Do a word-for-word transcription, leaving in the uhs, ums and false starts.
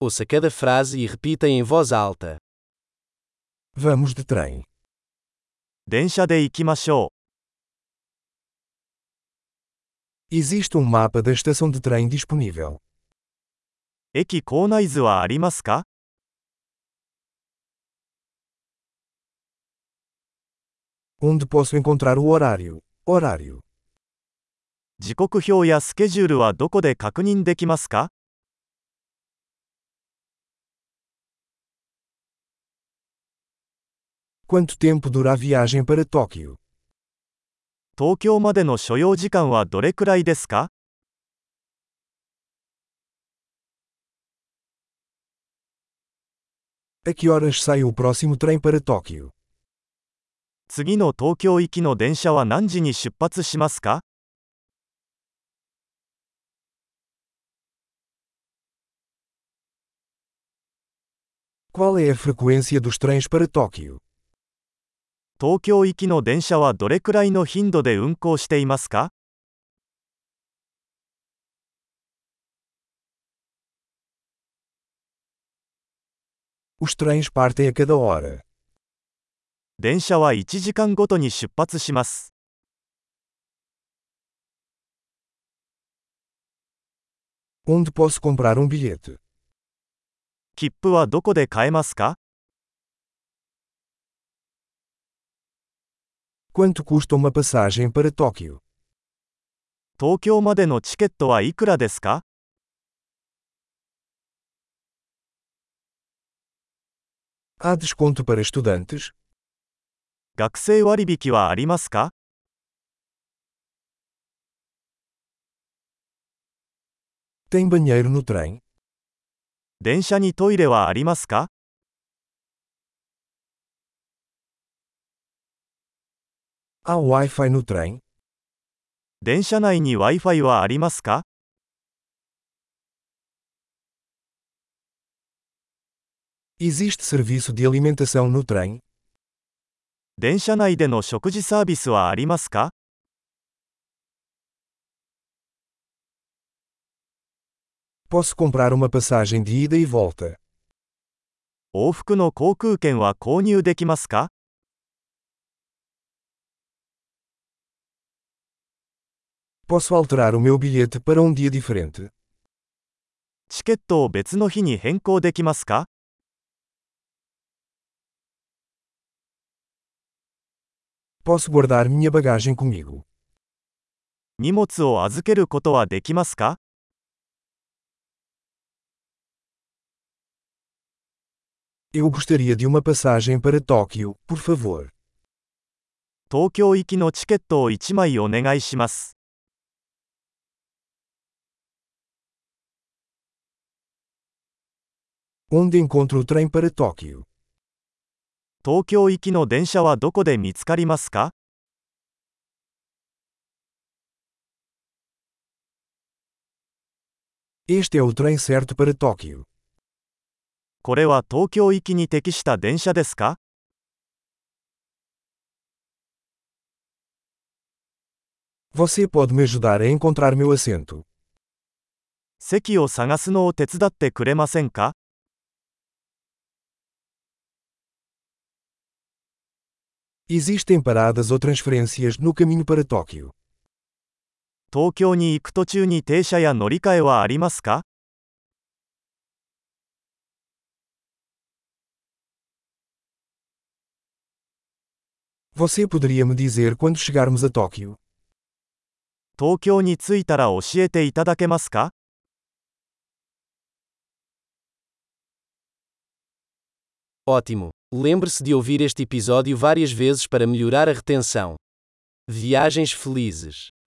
Ouça cada frase e repita em voz alta. Vamos de trem. 電車で行きましょ Existe um mapa da estação de trem disponível. う。駅構内図はありますか？ Onde posso encontrar o horário? Horário. 時刻表やスケジュールはどこで確認できますか？ Quanto tempo dura a viagem para Tóquio? 東京までの所要時間はどれくらいですか？ A que horas sai o próximo trem para Tóquio? 次の東京行きの電車は何時に出発しますか？ Qual é a frequência dos trens para Tóquio? 東京行きの電車はどれくらいの頻度で運行していますか？ Os trens partem a cada hora. 電車はいちじかんごとに出発します。 Onde posso comprar um bilhete? 切符はどこで買えますか？ Quanto custa uma passagem para Tóquio? 東京までのチケットはいくらですか？ Há desconto para estudantes? 学生割引はありますか？ Tem banheiro no trem? 電車にトイレはありますか？ Há Wi-Fi no trem? 電車内に Wi-Fi はありますか？ Existe serviço de alimentação no trem? 電車内での食事サービスはありますか？ Posso comprar uma passagem de ida e volta. 往復の航空券は購入できますか？ Posso alterar o meu bilhete para um dia diferente. チケットを別の日に変更できますか？ Posso guardar minha bagagem comigo. 荷物を預けることはできますか？ Eu gostaria de uma passagem para Tóquio, por favor. 東京行きのチケットをいちまいお願いします。 Onde encontro o trem para Tóquio? 東京行きの電車はどこで見つかりますか？ Este é o trem certo para Tóquio. これは東京行きに適した電車ですか？ Você pode me ajudar a encontrar meu assento? 席を探すのを手伝ってくれませんか？ Existem paradas ou transferências no caminho para Tóquio. 東京に行く途中に停車や乗り換えはありますか？ Você poderia me dizer quando chegarmos a Tóquio? 東京に着いたら教えていただけますか？ Ótimo! Lembre-se de ouvir este episódio várias vezes para melhorar a retenção. Viagens felizes!